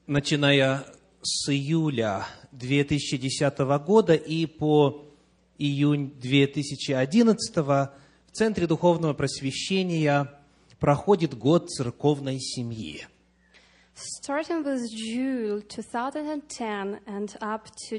Начиная с июля 2010 года и по июнь 2011 в Центре Духовного Просвещения проходит год церковной семьи. Starting with June 2010 and up to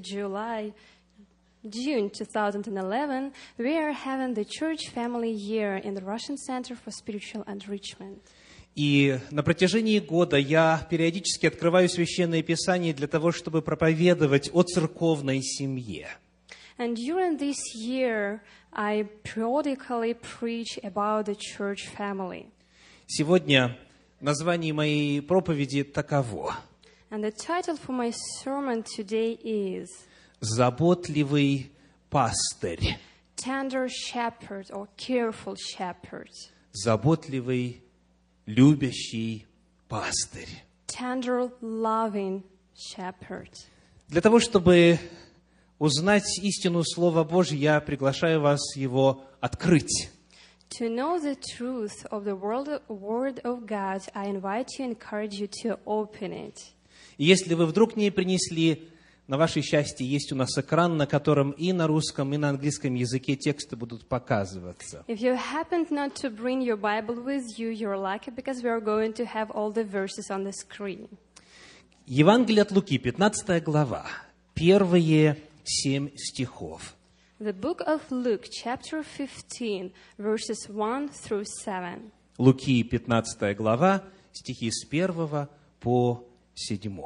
June 2011, we are having the Church Family Year in the Russian Center for Spiritual Enrichment. И на протяжении года я периодически открываю Священное Писание для того, чтобы проповедовать о церковной семье. And during this year, I periodically preach about the church family. Сегодня название моей проповеди таково: And the title for my sermon today is «Заботливый пастырь». Tender Shepherd or Careful Shepherd. Заботливый, любящий пастырь. Tender, loving Shepherd. Для того, чтобы узнать истину Слова Божьего, я приглашаю вас его открыть. To know the truth of the Word of God, I invite you, encourage you to open it. И если вы вдруг не принесли, на ваше счастье, есть у нас экран, на котором и на русском, и на английском языке тексты будут показываться. If you happened not to bring your Bible with you, you're lucky because we are going to have all the verses on the screen. Евангелие от Луки, 15 глава, первые 7 стихов. The book of Luke, chapter 15, verses 1 through 7. Луки, 15 глава, стихи с 1 по 7.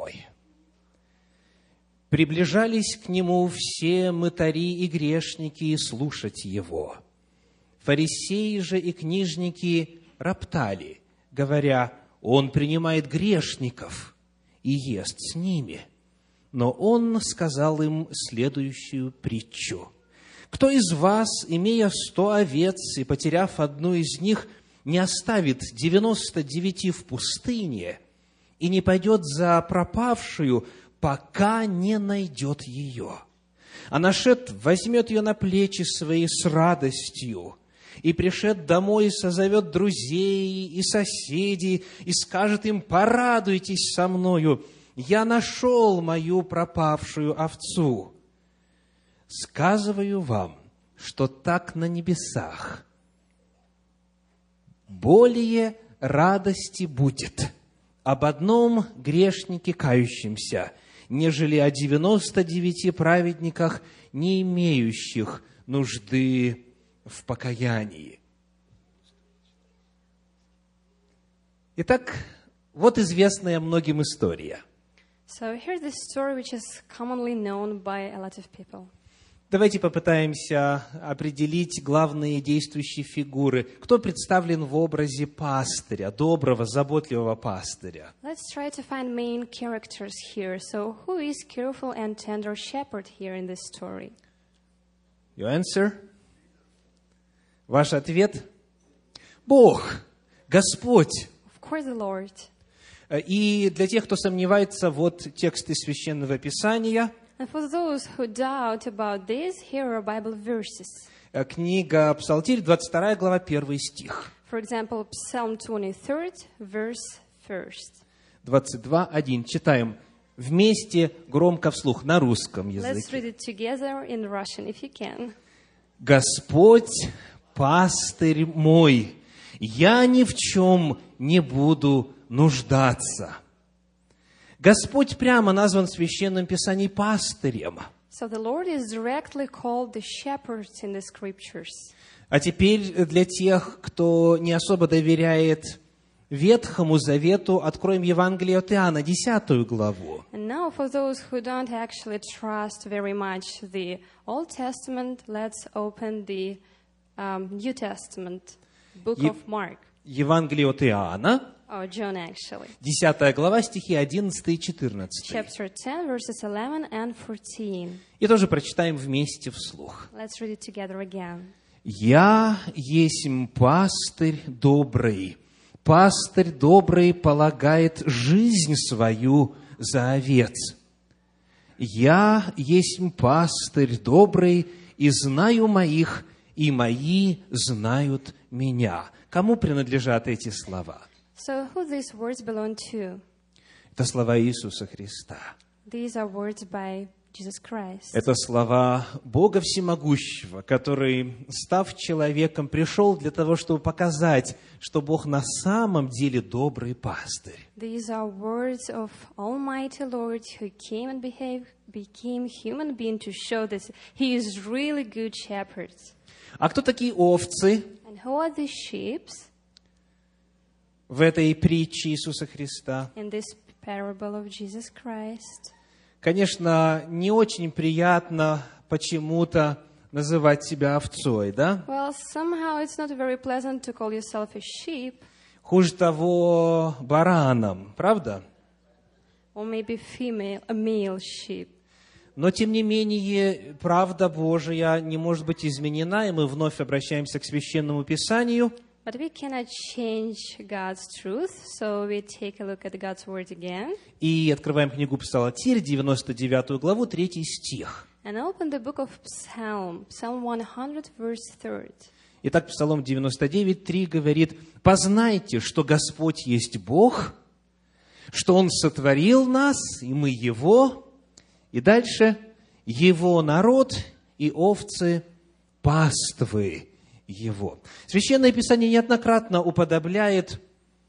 «Приближались к нему все мытари и грешники слушать его. Фарисеи же и книжники роптали, говоря: он принимает грешников и ест с ними. Но он сказал им следующую притчу: кто из вас, имея 100 овец и потеряв одну из них, не оставит 99 в пустыне и не пойдет за пропавшую, пока не найдет ее? А нашед возьмет ее на плечи свои с радостью, и пришед домой созовет друзей и соседей, и скажет им: порадуйтесь со мною, я нашел мою пропавшую овцу. Сказываю вам, что так на небесах более радости будет об одном грешнике кающемся, нежели о 99 праведниках, не имеющих нужды в покаянии». Итак, вот известная многим история. So here's the story which is commonly known by a lot of people. Давайте попытаемся определить главные действующие фигуры. Кто представлен в образе пастыря, доброго, заботливого пастыря? Let's try to find main characters here. So who is careful and tender shepherd here in this story? Your answer? Ваш ответ? Бог, Господь. Of course, the Lord. И для тех, кто сомневается, вот тексты Священного Писания. And for those who doubt about this, here are Bible verses. Книга Псалтирь, 22 глава, 1 стих. For example, Psalm 23, verse 1. 22:1. Читаем вместе, громко вслух, на русском Let's языке. read it together in Russian, if you can. «Господь, пастырь мой, я ни в чем не буду нуждаться». Господь прямо назван в Священном Писании пастырем. So the Lord is directly called the shepherd in the scriptures. А теперь для тех, кто не особо доверяет Ветхому Завету, откроем Евангелие от Иоанна, 10 главу. And now for those who don't actually trust very much the Old Testament, let's open the New Testament, book of Mark. Евангелие от Иоанна, Or John, actually. 10 глава, стихи 11 и 14. Chapter 10, verses 11 and 14. И тоже прочитаем вместе вслух. Let's read it together again. «Я есмь пастырь добрый. Пастырь добрый полагает жизнь свою за овец. Я есмь пастырь добрый, и знаю моих, и мои знают меня». Кому принадлежат эти слова? So who these words belong to? Это слова Иисуса Христа. These are words by Jesus Christ. Это слова Бога Всемогущего, который, став человеком, пришел для того, чтобы показать, что Бог на самом деле добрый пастырь. These are words of Almighty Lord who came and became human being to show that He is really good shepherd. А кто такие овцы And who are these sheep в этой притче Иисуса Христа? in this parable of Jesus Christ? Конечно, не очень приятно почему-то называть себя овцой, да? Well, somehow it's not very pleasant to call yourself a sheep, Хуже того, бараном, правда? or maybe a male sheep. Но, тем не менее, правда Божия не может быть изменена, и мы вновь обращаемся к Священному Писанию. But we cannot change God's truth, so we take a look at God's word again. И открываем книгу Псалатирь, 99 главу, 3 стих. And open the book of Psalm 100, verse 3. Итак, Псалом 99, 3 говорит: «Познайте, что Господь есть Бог, что Он сотворил нас, и мы Его». И дальше: «Его народ и овцы паствы Его». Священное Писание неоднократно уподобляет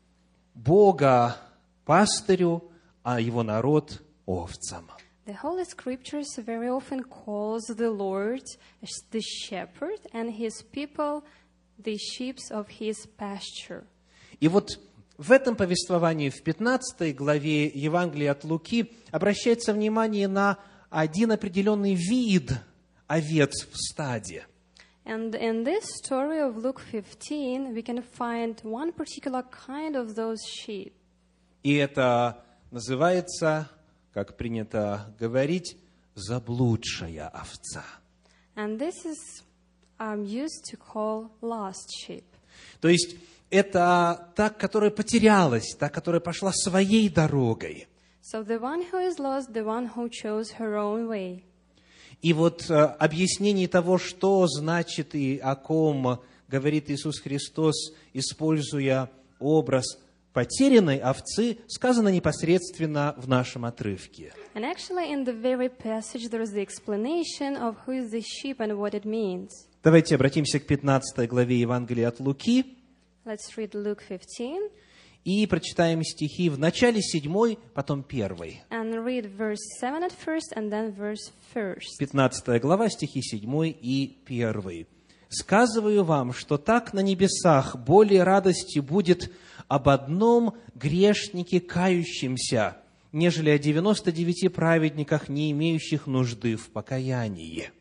Бога пастырю, а Его народ овцам. The Holy Scriptures very often calls the Lord the shepherd and His people the sheep of His pasture. И вот в этом повествовании, в 15 главе Евангелия от Луки, обращается внимание на один определенный вид овец в стаде. And in this story of Luke 15, we can find one particular kind of those sheep. И это называется, как принято говорить, заблудшая овца. And this is used to call lost sheep. То есть это та, которая потерялась, та, которая пошла своей дорогой. So the one who is lost, the one who chose her own way. И вот объяснение того, что значит и о ком говорит Иисус Христос, используя образ потерянной овцы, сказано непосредственно в нашем отрывке. And actually in the very passage there is the explanation of who is the sheep and what it means. Давайте обратимся к 15 главе Евангелия от Луки. Let's read Luke 15 И прочитаем стихи в начале 7, потом 1. and read verse 7 at first and then verse 1. 15 глава, стихи 7 и 1. «Сказываю вам, что так на небесах более радости будет об одном грешнике кающемся, нежели о 99 праведниках, не имеющих нужды в покаянии».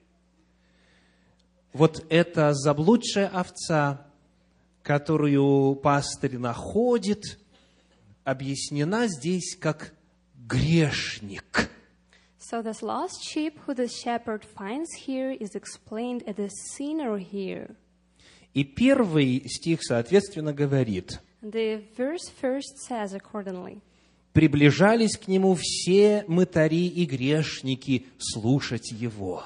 Вот эта заблудшая овца, которую пастырь находит, объяснена здесь как грешник. So this lost sheep who the shepherd finds here is explained as a sinner here. И первый стих, соответственно, говорит: The verse first says accordingly. «Приближались к нему все мытари и грешники слушать его».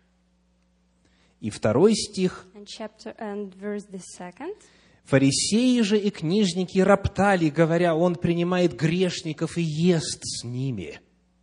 И второй стих: And verse the second. «Фарисеи же и книжники роптали, говоря, он принимает грешников и ест с ними».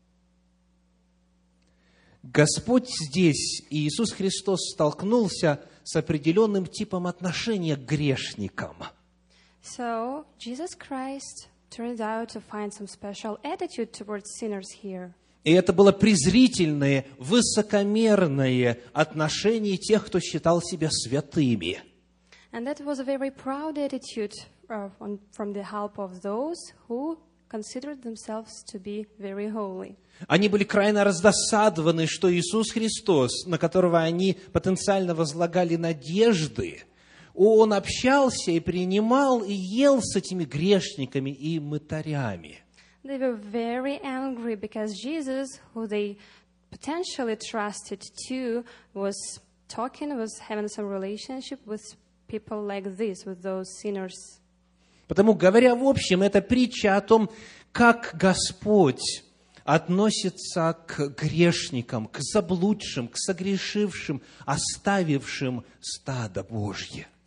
Господь здесь, и Иисус Христос, столкнулся с определенным типом отношения к грешникам. So Jesus Christ turned out to find some special attitude towards sinners here. И это было презрительное, высокомерное отношение тех, кто считал себя святыми. And that was a very proud attitude from the help of those who considered themselves to be very holy. Они были крайне раздосадованы, что Иисус Христос, на которого они потенциально возлагали надежды, Он общался и принимал и ел с этими грешниками и мытарями. They were very angry because Jesus, who they potentially trusted to, was having some relationship with people like this, with those sinners. Потому, говоря в общем, это притча о том, как Господь относится к грешникам, к заблудшим, к согрешившим, оставившим стадо Божье.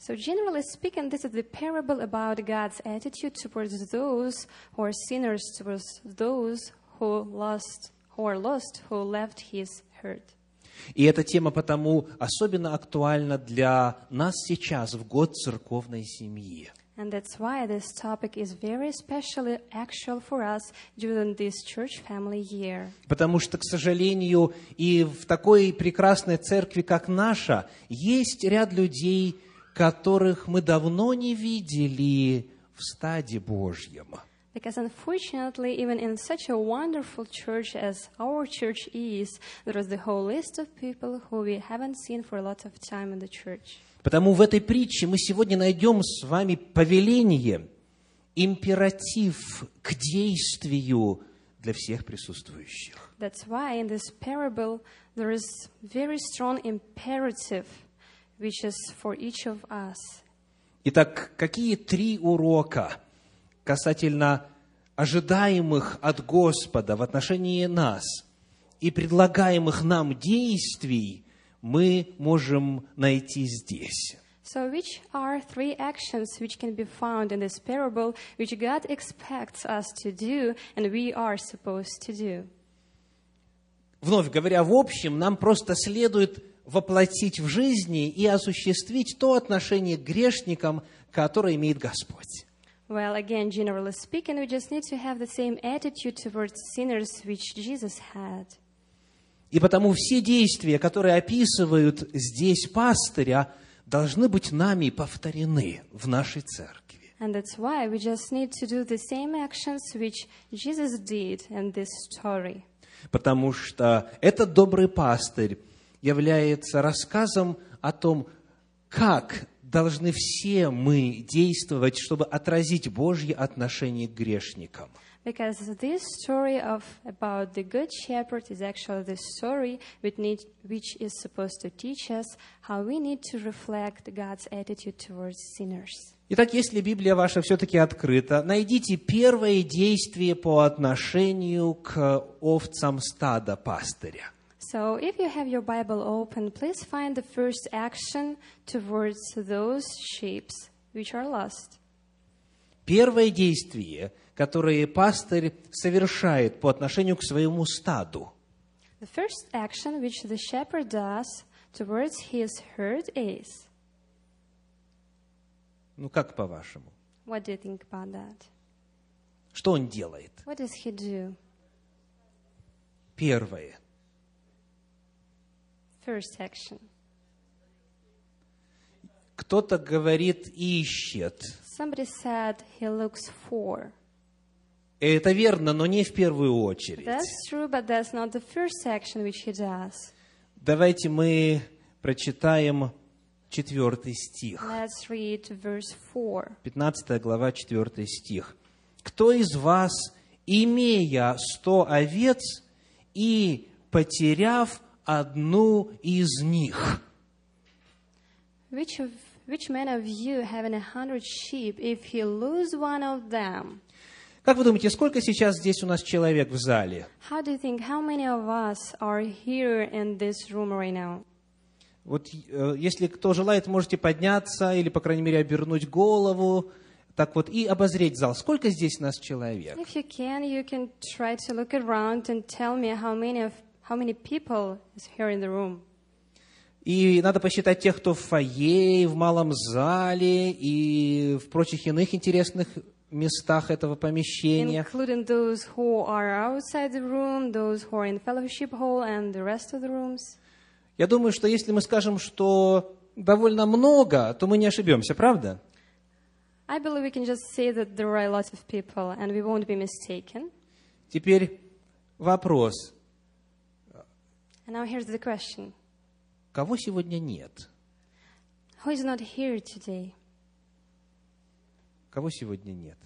So generally speaking, this is the parable about God's attitude towards those who are sinners, towards those who are lost, who left His herd. И эта тема потому особенно актуальна для нас сейчас, в год церковной семьи. And that's why this topic is very especially actual for us during this church family year. Потому что, к сожалению, и в такой прекрасной церкви, как наша, есть ряд людей, которых мы давно не видели в стаде Божьем. Because unfortunately, even in such a wonderful church as our church is, there is the whole list of people who we haven't seen for a lot of time in the church. Потому в этой притче мы сегодня найдем с вами повеление, императив к действию для всех присутствующих. That's why in this parable there is very strong imperative, which is for each of us. Итак, какие 3 урока касательно ожидаемых от Господа в отношении нас и предлагаемых нам действий мы можем найти здесь? So which are 3 actions which can be found in this parable, which God expects us to do and we are supposed to do? Вновь говоря, в общем, нам просто следует воплотить в жизни и осуществить то отношение к грешникам, которое имеет Господь. Well, again, generally speaking, we just need to have the same attitude towards sinners which Jesus had. И потому все действия, которые описывают здесь пастыря, должны быть нами повторены в нашей церкви. And that's why we just need to do the same actions which Jesus did in this story. Потому что этот добрый пастырь является рассказом о том, как должны все мы действовать, чтобы отразить Божье отношение к грешникам. Because this story about the Good Shepherd is actually the story which is supposed to teach us how we need to reflect God's attitude towards sinners. Итак, если Библия ваша все-таки открыта, найдите первое действие по отношению к овцам стада пастыря. So, if you have your Bible open, please find the first action towards those sheep which are lost. Первое действие, которое пастырь совершает по отношению к своему стаду. The first action which the shepherd does towards his herd is. Ну, как по-вашему? What do you think about that? Что он делает? What does he do? Первое. First action. Кто-то говорит, ищет. Somebody said he looks for. Это верно, но не в первую очередь. That's true, but that's not the first action which he does. Давайте мы прочитаем 4 стих. Let's read verse 4. 15 глава, 4 стих. «Кто из вас, имея 100 овец и потеряв одну из них?» Which man of you, having 100 sheep, if he lose one of them? Как вы думаете, сколько сейчас здесь у нас человек в зале? How do you think, how many of us are here in this room right now? Вот если кто желает, можете подняться или, по крайней мере, обернуть голову, так вот, и обозреть зал. Сколько здесь нас человек? If you can try to look around and tell me how many people is here in the room. И надо посчитать тех, кто в фойе, в малом зале и в прочих иных интересных местах этого помещения. Including those who are outside the room, those who are in fellowship hall and the rest of the rooms. Я думаю, что если мы скажем, что довольно много, то мы не ошибемся, правда? I believe we can just say that there are a lot of people and we won't be mistaken. Теперь вопрос. And now here's the question. Кого сегодня нет? Who is not here today? Кого сегодня нет?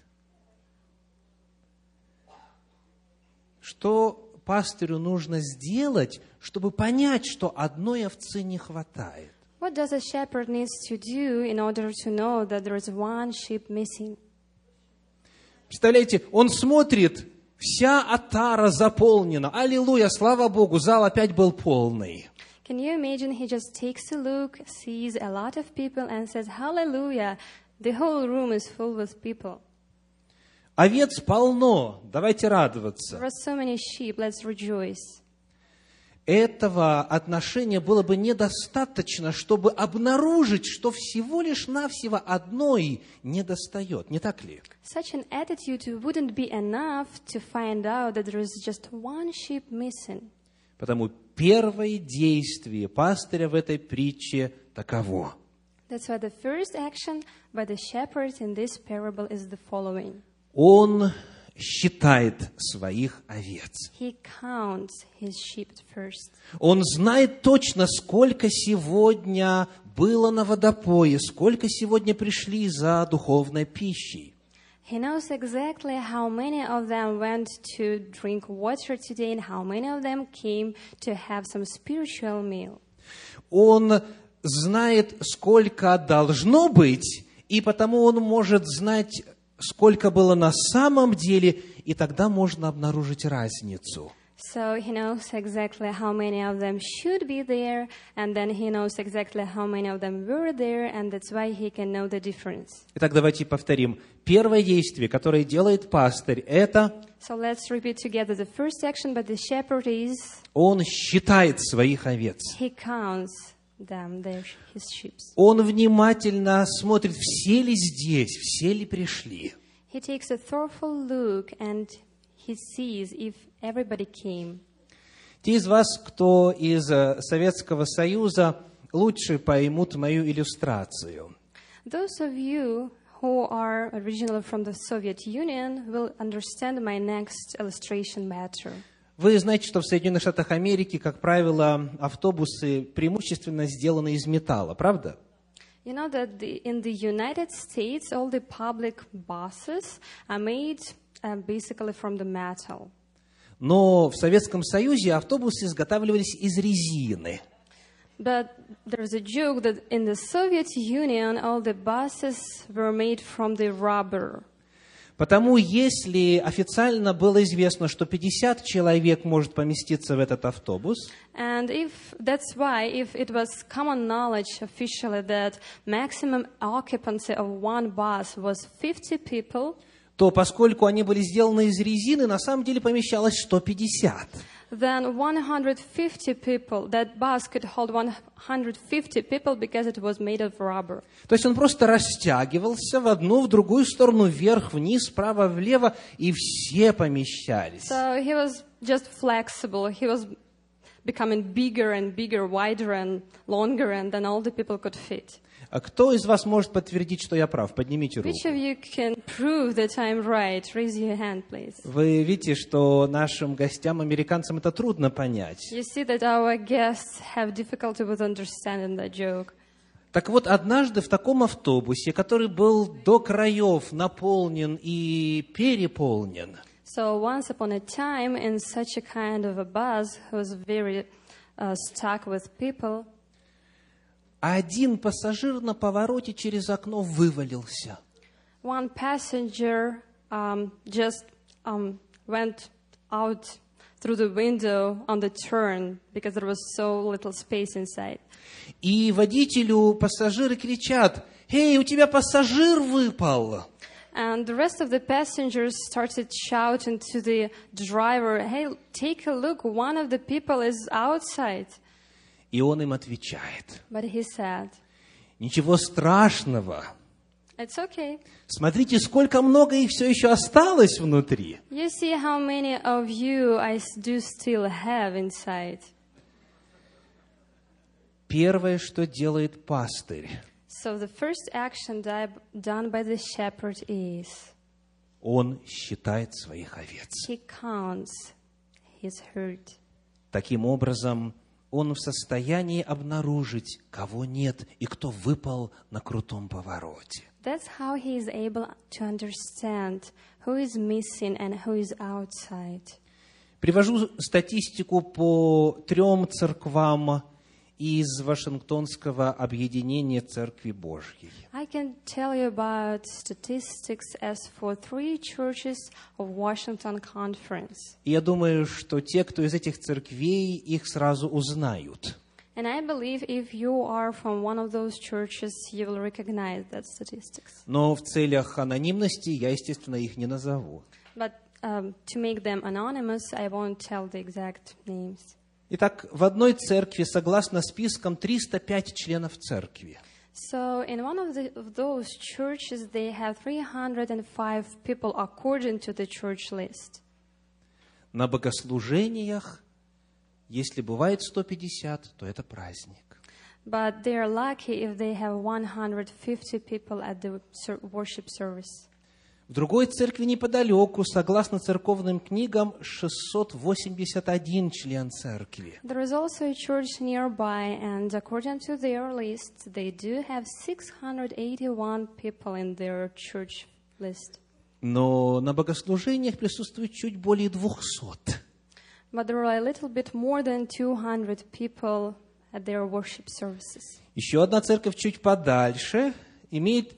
Что пастырю нужно сделать, чтобы понять, что одной овцы не хватает? What does a shepherd needs to do in order to know that there is one sheep missing? Представляете, он смотрит, вся отара заполнена. Аллилуйя, слава Богу, зал опять был полный. Can you imagine he just takes a look, sees a lot of people and says, Hallelujah, the whole room is full with people. Овец полно, давайте радоваться. There are so many sheep, let's rejoice. Этого отношения было бы недостаточно, чтобы обнаружить, что всего лишь навсего одной недостает, не так ли? Such an attitude wouldn't be enough to find out that there is just one sheep missing. Потому первое действие пастыря в этой притче таково. That's why the first action by the shepherd in this parable is the following. Он считает своих овец. He counts his sheep first. Он знает точно, сколько сегодня было на водопое, сколько сегодня пришли за духовной пищей. He knows exactly how many of them went to drink water today and how many of them came to have some spiritual meal. Он знает, сколько должно быть, и потому он может знать, сколько было на самом деле, и тогда можно обнаружить разницу. So he knows exactly how many of them should be there, and then he knows exactly how many of them were there, and that's why he can know the difference. Итак, давайте повторим. Первое действие, которое делает пастырь, это So let's repeat together. The first action by the shepherd is он считает своих овец. he counts them, his sheep. Он внимательно смотрит, все ли здесь, все ли пришли. He takes a thoughtful look and he sees if everybody came. Те из вас, кто из Советского Союза, лучше поймут мою иллюстрацию. Those of you who are originally from the Soviet Union will understand my next illustration better. Вы знаете, что в Соединенных Штатах Америки, как правило, автобусы преимущественно сделаны из металла, правда? You know that in the United States, all the public buses are made basically from the metal. Но в Советском Союзе автобусы изготавливались из резины. But there's a joke that in the Soviet Union, all the buses were made from the rubber. Потому если официально было известно, что 50 человек может поместиться в этот автобус, And that's why if it was common knowledge officially that maximum occupancy of one bus was 50 people, то поскольку они были сделаны из резины, на самом деле помещалось 150. then 150 people, that bus could hold 150 people because it was made of rubber. То есть он просто растягивался в одну, в другую сторону, вверх, вниз, справа, влево, и все помещались. So he was just flexible. He was becoming bigger and bigger, wider and longer, and then all the people could fit. А кто из вас может подтвердить, что я прав? Поднимите руку. Which of you can prove that I'm right? Raise your hand, please. Вы видите, что нашим гостям, американцам, это трудно понять. You see that our guests have difficulty with understanding that joke. Так вот, однажды в таком автобусе, который был до краев наполнен и переполнен, So once upon a time, in such a kind of a bus who was very stuck with people, один пассажир на повороте через окно вывалился. one passenger just went out through the window on the turn because there was so little space inside. И водителю пассажиры кричат: «Эй, у тебя пассажир выпал!» And the rest of the passengers started shouting to the driver, hey, take a look, one of the people is outside. И он им отвечает: But he said, «Ничего страшного. it's okay. Смотрите, сколько много их все еще осталось внутри». You see how many of you I do still have inside. Первое, что делает пастырь, So the first action done by the shepherd is он считает своих овец. he counts his herd. Таким образом, он в состоянии обнаружить, кого нет и кто выпал на крутом повороте. That's how he is able to understand who is missing and who is outside. Привожу статистику по 3 церквам из Вашингтонского объединения Церкви Божьей. I can tell you about statistics as for 3 churches of Washington Conference. И я думаю, что те, кто из этих церквей, их сразу узнают. And I believe if you are from one of those churches, you will recognize that statistics. Но в целях анонимности я, естественно, их не назову. But to make them anonymous, I won't tell the exact names. Итак, в одной церкви, согласно спискам, 305 членов церкви. So in one of those churches, they have 305 people according to the church list. На богослужениях, если бывает 150, то это праздник. But they are lucky if they have 150 people at the worship service. В другой церкви неподалеку, согласно церковным книгам, 681 член церкви. There is also a church nearby, and according to their list, they do have 681 people in their church list. Но на богослужениях присутствует чуть более 200. But there are a little bit more than 200 people at their worship services. Еще одна церковь чуть подальше имеет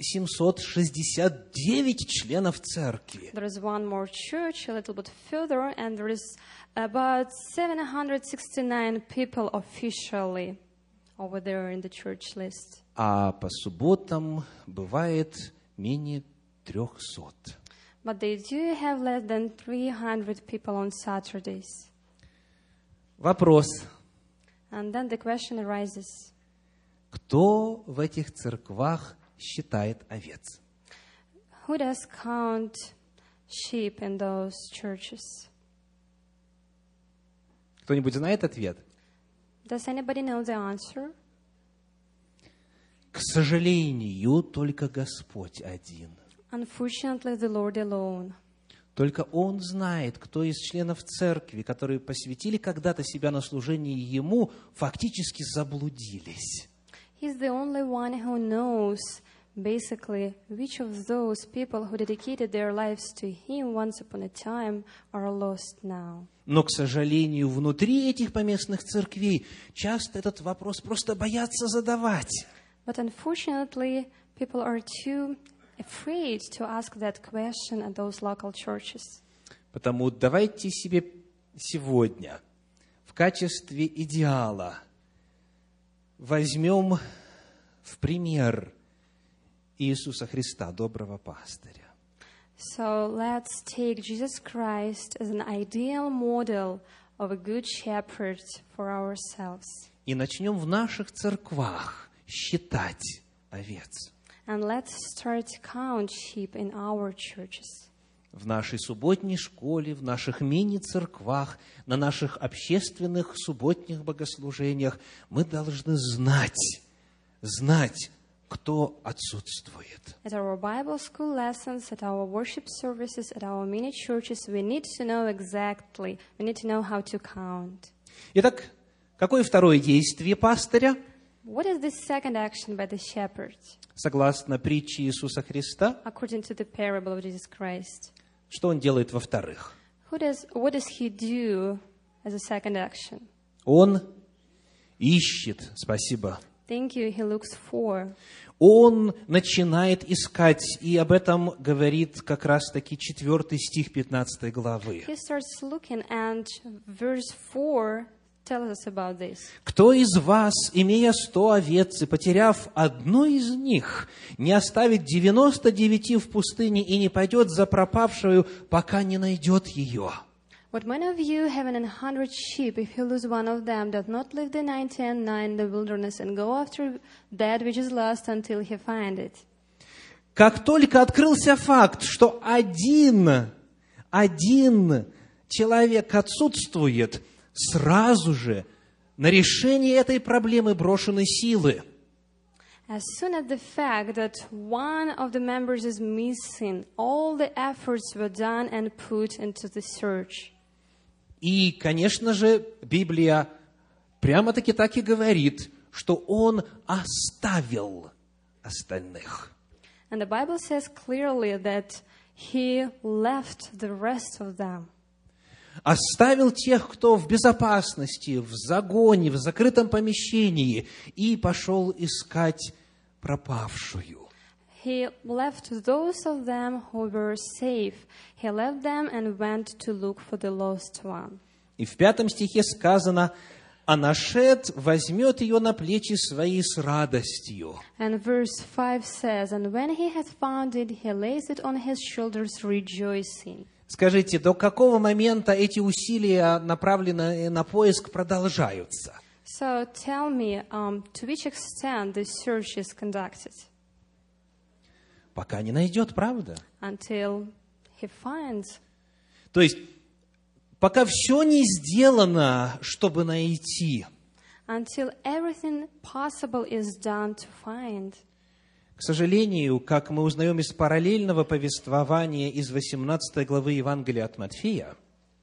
769 членов церкви. There is one more church a little bit further, and there is about 769 people officially over there in the church list. А по субботам бывает менее 300. But they do have less than 300 people on Saturdays. Вопрос. And then the question arises, Кто в этих церквах считает овец? who does count sheep in those churches? Кто-нибудь знает ответ? Does anybody know the answer? К сожалению, только Господь один. Unfortunately, the Lord alone. Только Он знает, кто из членов церкви, которые посвятили когда-то себя на служение Ему, фактически заблудились. He's the only one who knows, basically, which of those people who dedicated their lives to Him once upon a time are lost now. Но, к сожалению, внутри этих поместных церквей часто этот вопрос просто боятся задавать. But unfortunately, people are too afraid to ask that question at those local churches. Потому давайте себе сегодня в качестве идеала возьмем в пример Иисуса Христа, доброго пастыря. So let's take Jesus Christ as an ideal model of a good shepherd for ourselves. И начнем в наших церквах считать овец. And let's start to count sheep in our churches. В нашей субботней школе, в наших мини-церквах, на наших общественных субботних богослужениях мы должны знать, кто отсутствует. At our Bible school lessons, at our worship services, at our mini churches, we need to know exactly, we need to know how to count. Итак, какое второе действие пастыря? What is the second action by the shepherd, Согласно притче Иисуса Христа, according to the parable of Jesus Christ? что он делает во-вторых? What does he do as a second action? Он ищет, спасибо. Thank you, he looks for. Он начинает искать, и об этом говорит как раз-таки 4 стих 15 главы. He starts looking, and verse 4 tells us about this. «Кто из вас, имея 100 овец и потеряв одну из них, не оставит 99 в пустыне и не пойдет за пропавшую, пока не найдет ее?» What man of you, having 100 sheep, if he lose one of them, does not leave the 99 in the wilderness and go after that which is lost until he find it? Как только открылся факт, что один человек отсутствует, сразу же на решение этой проблемы брошены силы. As soon as the fact that one of the members is missing, all the efforts were done and put into the search. И, конечно же, Библия прямо-таки так и говорит, что он оставил остальных. And the Bible says clearly that he left the rest of them. Оставил тех, кто в безопасности, в загоне, в закрытом помещении, и пошел искать пропавшую. He left those of them who were safe. He left them and went to look for the lost one. И в 5 стихе сказано: а нашед возьмет ее на плечи свои с радостью. And verse 5 says, and when he hath found it, he lays it on his shoulders, rejoicing. Скажите, до какого момента эти усилия, направленные на поиск, продолжаются? So tell me, to which extent this search is conducted? Пока не найдет, правда? Until he finds. То есть, пока все не сделано, чтобы найти. Until everything possible is done to find. К сожалению, как мы узнаем из параллельного повествования из 18 главы Евангелия от Матфея,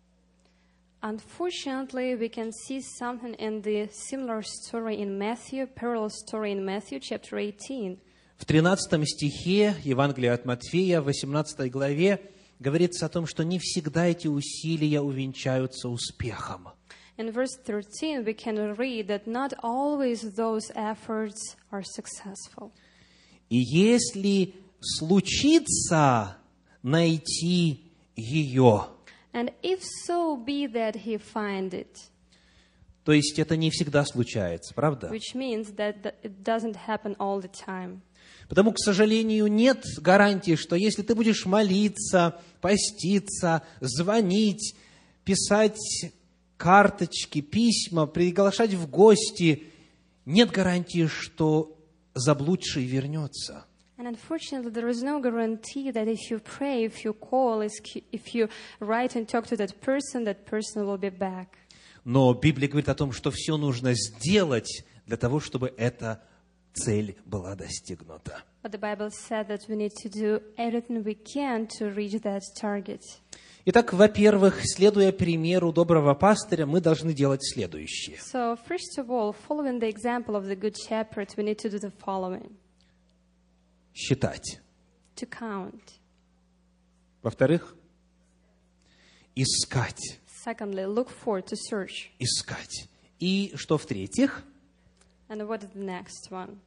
Unfortunately, we can see something in the similar story in Matthew, parallel story in Matthew, chapter 18. в 13 стихе Евангелия от Матфея, в 18 главе, говорится о том, что не всегда эти усилия увенчаются успехом. In verse 13, we can read that not always those efforts are successful. И если случится найти ее, And if so be that he find it, то есть это не всегда случается, правда? which means that it doesn't happen all the time. Потому, к сожалению, нет гарантии, что если ты будешь молиться, поститься, звонить, писать карточки, письма, приглашать в гости, нет гарантии, что заблудший вернется. And unfortunately, there is no guarantee that if you pray, if you call, if you write and talk to that person will be back. Но Библия говорит о том, что все нужно сделать для того, чтобы эта цель была достигнута. But the Bible said that we need to do everything we can to reach that target. Итак, во-первых, следуя примеру доброго пастыря, мы должны делать следующее. So, first of all, following the example of the good shepherd, we need to do the following. Считать. To count. Во-вторых, искать. Secondly, look for, to search. Искать. И что в-третьих? And what is the next one?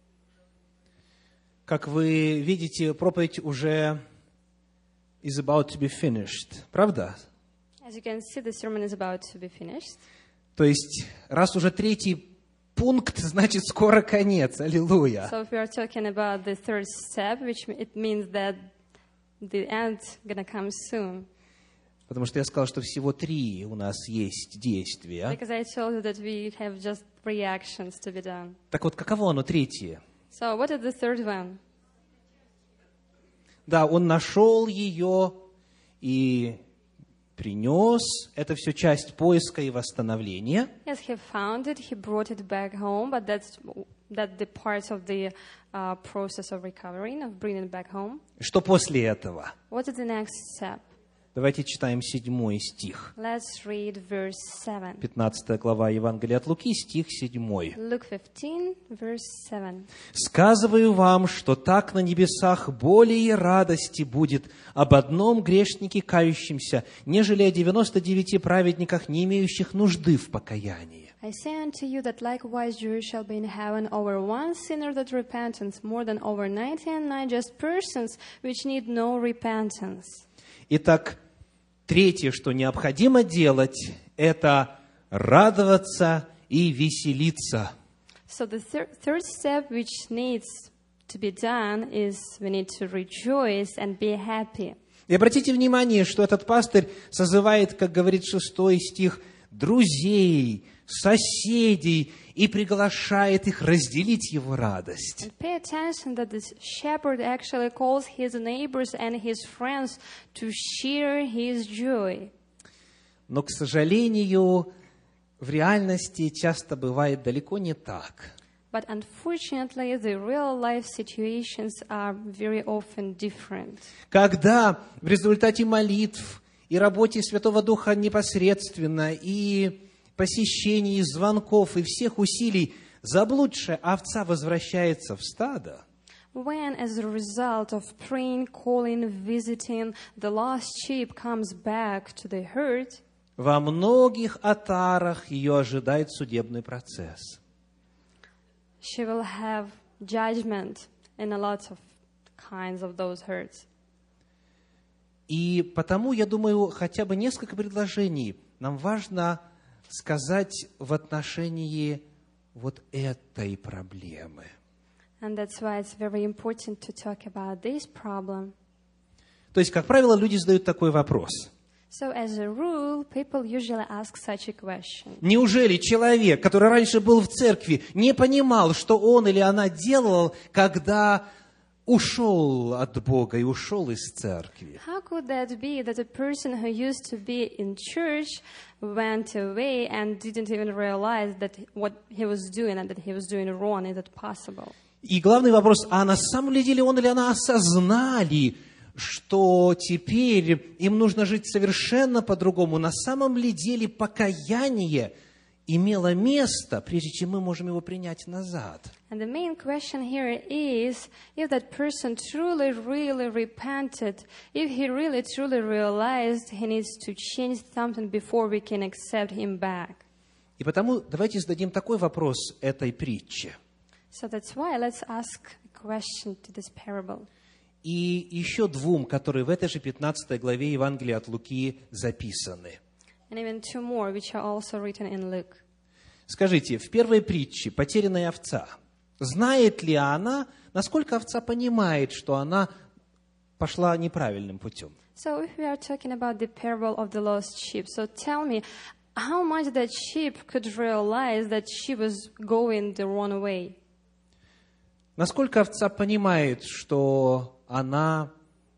Как вы видите, проповедь уже is about to be finished. Правда? As you can see, the sermon is about to be finished. То есть, раз уже третий пункт, значит, скоро конец. Аллилуйя. So if we are talking about the third step, which it means that the end gonna come soon. Потому что я сказал, что всего 3 у нас есть действия. Because I told you that we have just 3 actions to be done. Так вот, каково оно третье? So what is the third one? Да, он нашел ее и принес. Это все часть поиска и восстановления. Yes, he found it, he brought it back home, but that's the part of the process of recovering, of bringing it back home. Что после этого? What is the next step? Давайте читаем 7 стих. Let's read verse 7. 15 глава Евангелия от Луки, стих 7. Luke 15, verse 7. «Сказываю вам, что так на небесах более радости будет об одном грешнике кающемся, нежели о 99 праведниках, не имеющих нужды в покаянии». I say unto you that likewise joy shall be in heaven over one sinner that repenteth, more than over 99 just persons which need no repentance. Итак, третье, что необходимо делать, это радоваться и веселиться. So the third step which needs to be done is we need to rejoice and be happy. И обратите внимание, что этот пастырь созывает, как говорит 6 стих, друзей, соседей и приглашает их разделить его радость. And pay attention that this shepherd actually calls his neighbors and his friends to share his joy. Но, к сожалению, в реальности часто бывает далеко не так. But unfortunately, the real life situations are very often different. Когда в результате молитв и работе Святого Духа непосредственно, и посещений, и звонков, и всех усилий, заблудшая овца возвращается в стадо, When, as a result of praying, calling, visiting, the lost sheep comes back to the herd, во многих отарах ее ожидает судебный процесс. she will have judgment in a lot of kinds of those herds. И потому, я думаю, хотя бы несколько предложений нам важно сказать в отношении вот этой проблемы. And that's why it's very important to talk about this problem. То есть, как правило, люди задают такой вопрос. So as a rule, people usually ask such a question. Неужели человек, который раньше был в церкви, не понимал, что он или она делал, когда ушел от Бога и ушел из церкви? How could that be that a person who used to be in church went away and didn't even realize that what he was doing and that he was doing wrong? Is it possible? И главный вопрос, а на самом ли деле он или она осознали, что теперь им нужно жить совершенно по-другому? На самом ли деле покаяние имело место, прежде чем мы можем его принять назад? And the main question here is if that person truly, really repented, if he really, truly realized he needs to change something before we can accept him back. И потому давайте зададим такой вопрос этой притче. So that's why let's ask a question to this parable. И еще двум, которые в этой же 15 главе Евангелия от Луки записаны. And even two more, which are also written in Luke. Скажите, в первой притче «Потерянная овца», знает ли она, насколько овца понимает, что она пошла неправильным путем? So if we are talking about the parable of the lost sheep, so tell me, how much that sheep could realize that she was going the wrong way? Насколько овца понимает, что она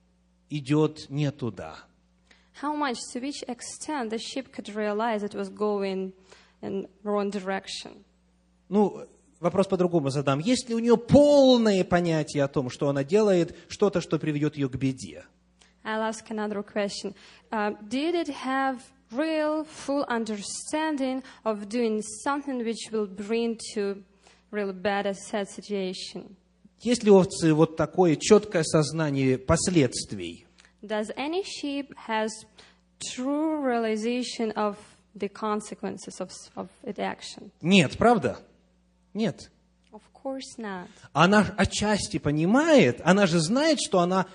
идет не туда? How much, to which extent the sheep could realize it was going in the wrong direction? Ну, вопрос по-другому задам. Есть ли у нее полное понятие о том, что она делает, что-то, что приведет ее к беде? I'll ask another question. Did it have real, full understanding of doing something which will bring to really bad or sad situation? Есть ли у овцы вот такое четкое сознание последствий? Does any sheep has true realization of the consequences of its action? Нет, правда? Нет. Of course not. Она отчасти понимает, она же знает, что она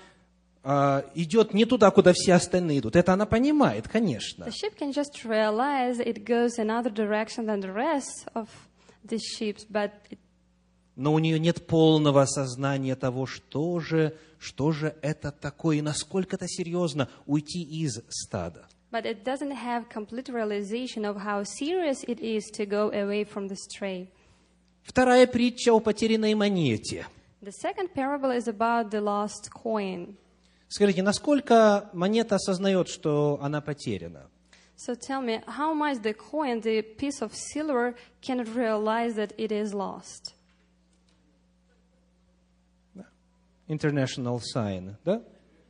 идет не туда, куда все остальные идут. Это она понимает, конечно. The sheep can just realize it goes another direction than the rest of the sheep, but Но у нее нет полного осознания того, что же это такое, и насколько это серьезно уйти из стада. But it doesn't have complete realization of how serious it is to go away from the stray. Вторая притча о потерянной монете. The second parable is about the lost coin. Скажите, насколько монета осознает, что она потеряна? So tell me, how much the coin, the piece of silver, can realize that it is lost? International sign, да?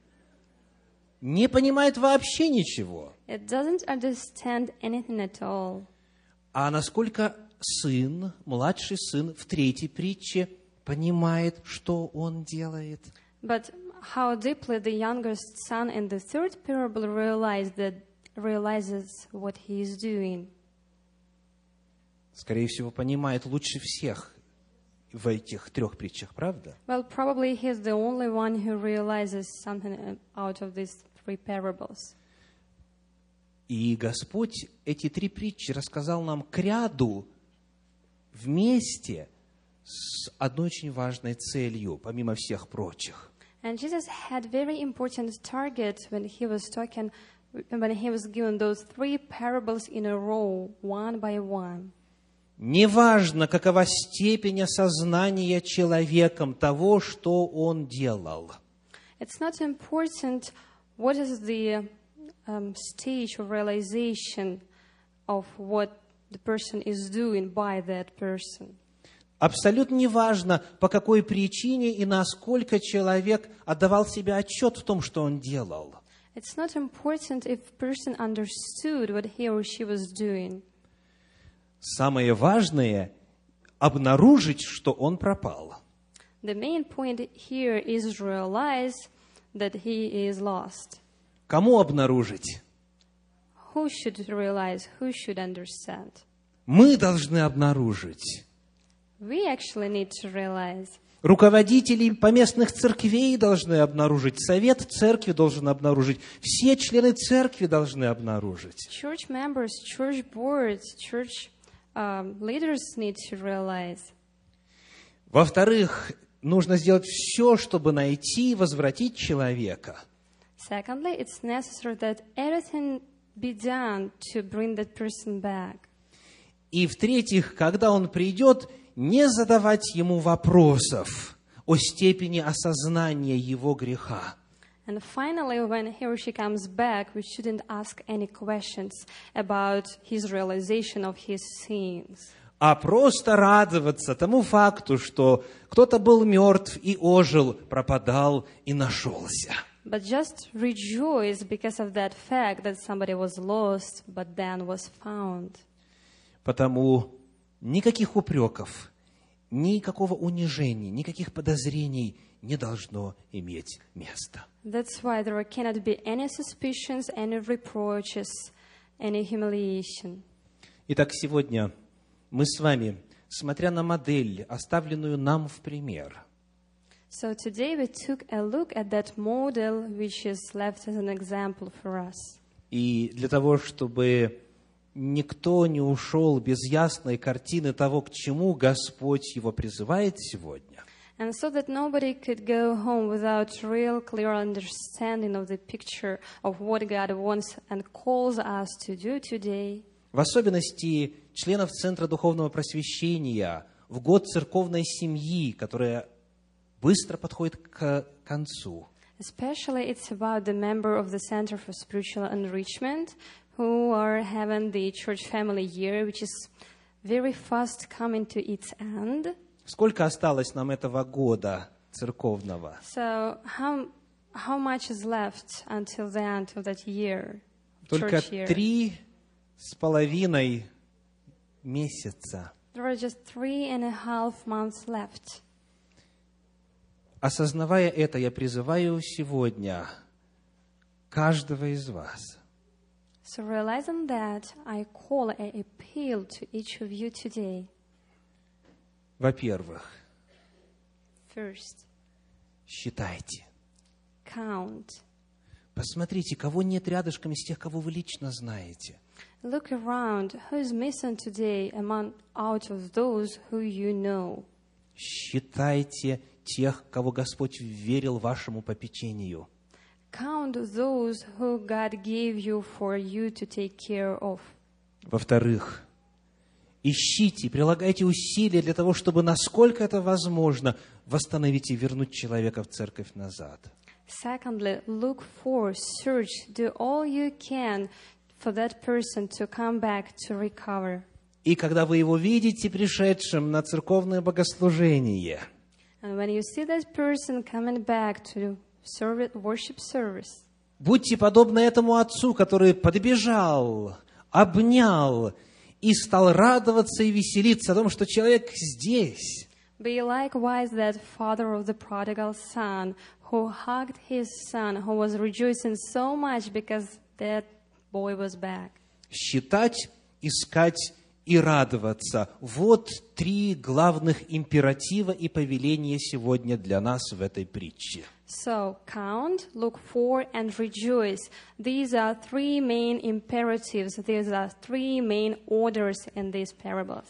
Не понимает вообще ничего. It doesn't understand anything at all. А насколько сын, младший сын в третьей притче понимает, что он делает? But how deeply the youngest son in the third parable realizes what he is doing. Скорее всего, понимает лучше всех в этих трех притчах, правда? Well, probably he's the only one who realizes something out of these three parables. И Господь эти три притчи рассказал нам к ряду вместе с одной очень важной целью, помимо всех прочих. And Jesus had very important target when he was given those three parables in a row, one by one. Неважно, какова степень осознания человеком того, что он делал. It's not important what is the stage of realization of what the person is doing by that person. Абсолютно неважно, по какой причине и насколько человек отдавал себе отчет в том, что он делал. It's not important if a person understood what he or she was doing. Самое важное – обнаружить, что он пропал. The main point here is realize that he is lost. Кому обнаружить? Who should realize? Who should understand? Мы должны обнаружить. We actually need to realize. Руководители поместных церквей должны обнаружить, совет церкви должен обнаружить, все члены церкви должны обнаружить. Church members, church boards, church leaders need to realize. Во-вторых, нужно сделать все, чтобы найти и возвратить человека. Secondly, it's necessary that everything be done to bring that person back. И в-третьих, когда он придет, не задавать ему вопросов о степени осознания его греха. And finally, when he or she comes back, we shouldn't ask any questions about his realization of his sins. А просто радоваться тому факту, что кто-то был мертв и ожил, пропадал и нашелся. But just rejoice because of that fact that somebody was lost, but then was found. Потому никаких упреков, никакого унижения, никаких подозрений не должно иметь места. That's why there cannot be any suspicions, any reproaches, any humiliation. Итак, сегодня мы с вами, смотря на модель, оставленную нам в пример, So today we took a look at that model which is left as an example for us. и для того, чтобы никто не ушел без ясной картины того, к чему Господь его призывает сегодня, And so that nobody could go home without real clear understanding of the picture of what God wants and calls us to do today, в особенности членов Центра Духовного Просвещения, в год церковной семьи, которая быстро подходит к концу. especially it's about the member of the Center for Spiritual Enrichment who are having the church family year, which is very fast coming to its end. Сколько осталось нам этого года церковного? So how much is left until the end of that year, Только church year? 3,5 месяца. There are just 3.5 months left. Осознавая это, я призываю сегодня каждого из вас So realizing that, I call an appeal to each of you today. Во-первых, First, считайте. count. Посмотрите, кого нет рядышком из тех, кого вы лично знаете. Look around. Who is missing today out of those who you know? Считайте тех, кого Господь вверил вашему попечению. Count those who God gave you for you to take care of. Во-вторых, ищите, прилагайте усилия для того, чтобы, насколько это возможно, восстановить и вернуть человека в церковь назад. Secondly, look for, search, do all you can for that person to come back, to recover. И когда вы его видите пришедшим на церковное богослужение, And when you see that person coming back to worship service, будьте подобны этому отцу, который подбежал, обнял и стал радоваться и веселиться о том, что человек здесь. be likewise that father of the prodigal son who hugged his son, who was rejoicing so much because that boy was back. Считать, искать и радоваться. Вот 3 главных императива и повеления сегодня для нас в этой притче. So, count, look for, and rejoice. These are 3 main imperatives. These are 3 main orders in these parables.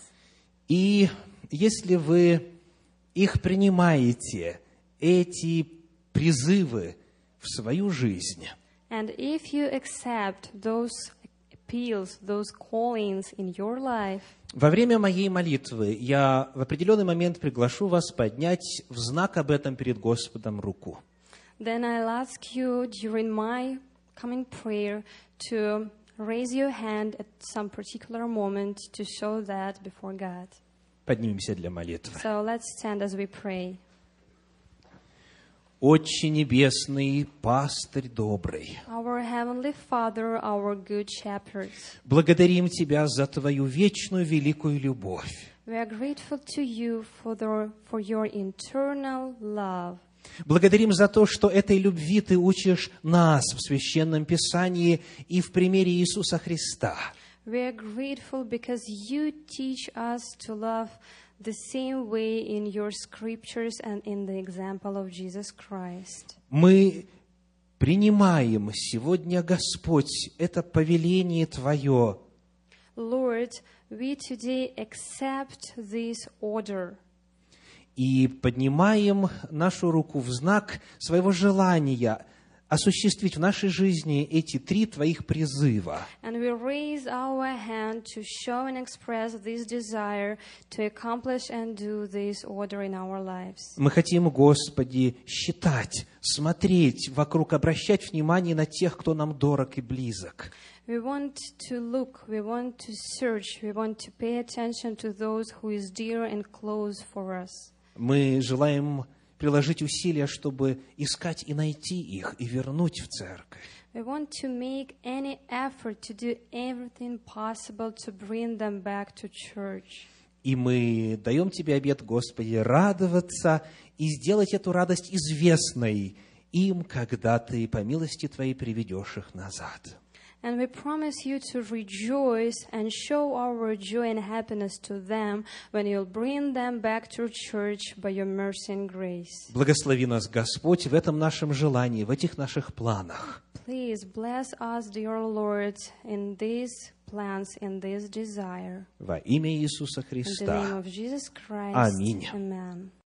И если вы их принимаете, эти призывы в свою жизнь, And if you accept those appeals, those callings in your life, во время моей молитвы я в определенный момент приглашу вас поднять в знак об этом перед Господом руку. then I'll ask you during my coming prayer to raise your hand at some particular moment to show that before God. Поднимемся для молитвы. So let's stand as we pray. Отче Небесный, Пастырь добрый, Our Heavenly Father, our Good Shepherd, благодарим Тебя за Твою вечную великую любовь. we are grateful to you for your eternal love. Благодарим за то, что этой любви Ты учишь нас в Священном Писании и в примере Иисуса Христа. We are grateful because you teach us to love the same way in your scriptures and in the example of Jesus Christ. Мы принимаем сегодня, Господь, это повеление Твое. Lord, we today accept this order. И поднимаем нашу руку в знак своего желания осуществить в нашей жизни эти 3 Твоих призыва. And we raise our hand to show and express this desire to accomplish and do this order in our lives. Мы хотим, Господи, считать, смотреть вокруг, обращать внимание на тех, кто нам дорог и близок. We want to look, we want to search, we want to pay attention to those who is dear and close for us. Мы желаем приложить усилия, чтобы искать и найти их, и вернуть в церковь. We want to make any effort to do everything possible to bring them back to church. И мы даем Тебе обет, Господи, радоваться и сделать эту радость известной им, когда Ты по милости Твоей приведешь их назад. And we promise you to rejoice and show our joy and happiness to them when you'll bring them back to church by your mercy and grace. Благослови нас, Господь, в этом нашем желании, в этих наших планах. Please bless us, dear Lord, in these plans, in this desire. Во имя Иисуса In the name Христа. of Jesus Christ. Аминь. Amen.